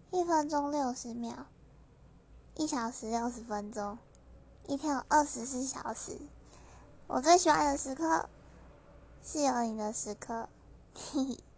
1分钟60秒，1小时60分钟，一天有24小时。我最喜欢的时刻是有你的时刻，嘿嘿。